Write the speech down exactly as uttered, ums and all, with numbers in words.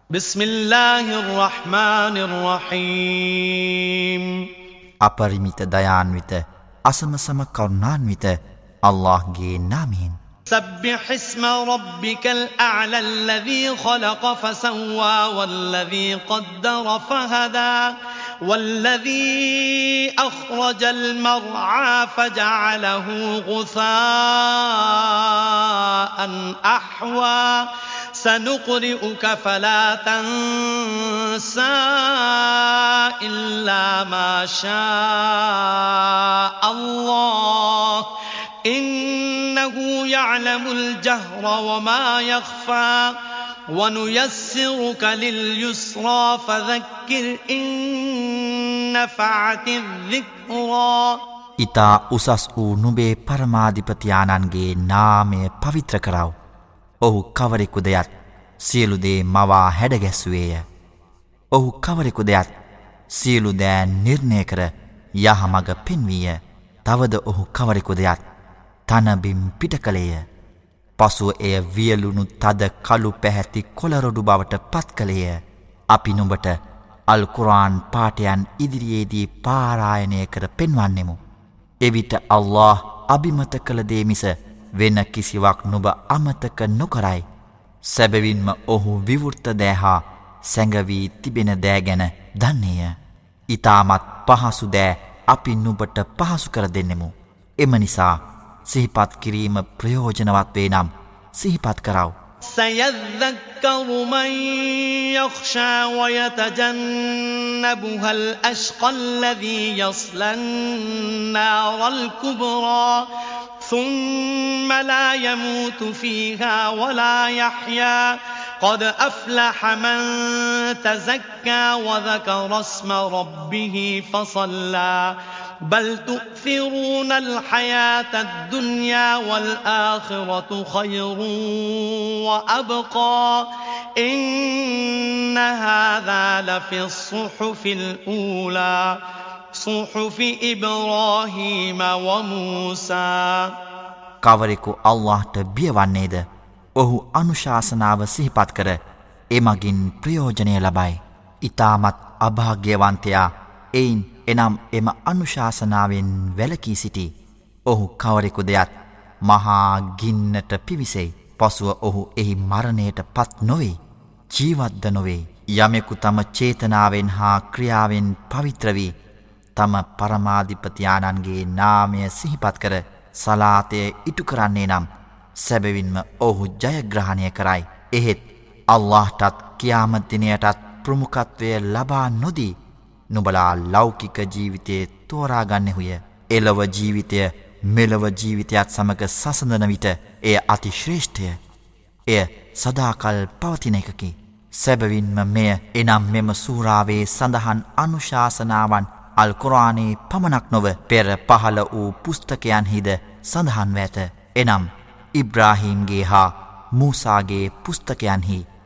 بسم الله الرحمن الرحيم අපරිමිත දයාන්විත අසමසම කරුණාන්විත අල්ලාහ්ගේ නාමයෙන් سبح اسم ربك الأعلى الذي خلق فسوى والذي قدر فهدى والذي أخرج المرعى فجعله غثاء أحوى سنقرئك فلا تنسى إلا ما شاء الله إنه يعلم الجهر وما يخفى ونيسرك لليسرى فذكر إن نفعت الذكرى ඊතා උසස් වූ නුඹේ පරමාධිපති ආනන්ගේ නාමය පවිත්‍ර කරව. ඔහු කවරෙකුද යත් සියලු දේ මවා හැඩගැස්සුවේය. ඔහු කවරෙකුද යත් සියලු දෑ නිර්ණය කර යහමඟ පෙන්වීය. තවද ඔහු කවරෙකුද යත් තනබිම් පිට කළේය. පසුව එය වියලුණු තද කළු පැහැති කොළරොඩු බවට පත් කළේය. අපි නුඹට අල් කුර්ආන් පාඨයන් ඉදිරියේදී පාරායනය කර පෙන්වන්නෙමු. එවිට අල්ලාහ් අබිමත කළ දේ මිස වෙන කිසිවක් නුඹ අමතක නොකරයි. සැබවින්ම ඔහු විවෘත දෑ හා සැඟවී තිබෙන දෑ ගැන දන්නේය. ඊටමත් පහසු දෑ අපි නුඹට පහසු කර දෙන්නෙමු. එම නිසා සිහිපත් කිරීම ප්‍රයෝජනවත් වේ නම් සිහිපත් කරව. سيذكر من يخشى ويتجنبها الأشقى الذي يصلى النار الكبرى ثم لا يموت فيها ولا يحيا قد أفلح من تزكى وذكر اسم ربه فصلى بل تؤثرون الحياة الدنيا والآخرة خير وأبقى إن هذا لفي الصحف الأولى صحف إبراهيم وموسى කවරෙකු අල්ලාහ්ට බියවන්නේද ඔහු අනුශාසනාව සිහිපත් කර එමගින් ප්‍රයෝජනය ලබයි. ඊටමත් අභාග්‍යවන්තයා එයින් එනම් එම අනුශාසනාවෙන් වැළකී සිටි. ඔහු කවරෙකුද යත් මහා ගින්නට පිවිසෙයි. පසුව ඔහු එහි මරණයට පත් නොවේ. ජීවත්ද නොවේ. යමෙකු තම චේතනාවෙන් හා ක්‍රියාවෙන් පවිත්‍ර වී තම පරමාධිපති ආනන්ගේ නාමය සිහිපත් කර සලාතය ඉටු කරන්නේ නම් සැබවින්ම ඔහු ජයග්‍රහණය කරයි. එහෙත් අල්ලාහ්ටත් කියාමත් දිනයටත් ප්‍රමුඛත්වය ලබා නොදී නුඹලා ලෞකික ජීවිතයේ තෝරාගන්නෙහුය. එලව ජීවිතය මෙලව ජීවිතයත් සමග සසඳන විට එය අති ශ්‍රේෂ්ඨය. එය සදාකල් පවතින එකකි. සැබවින්ම මෙය එනම් මෙම සූරාවේ සඳහන් අනුශාසනාවන් අල් කුර්ආනයේ පමණක් නොව පෙර පහළ වූ පුස්තකයන්හිද සඳහන්ව ඇත. එනම් ඉබ්‍රාහීම්ගේ හා මූසාගේ පුස්තකයන්හි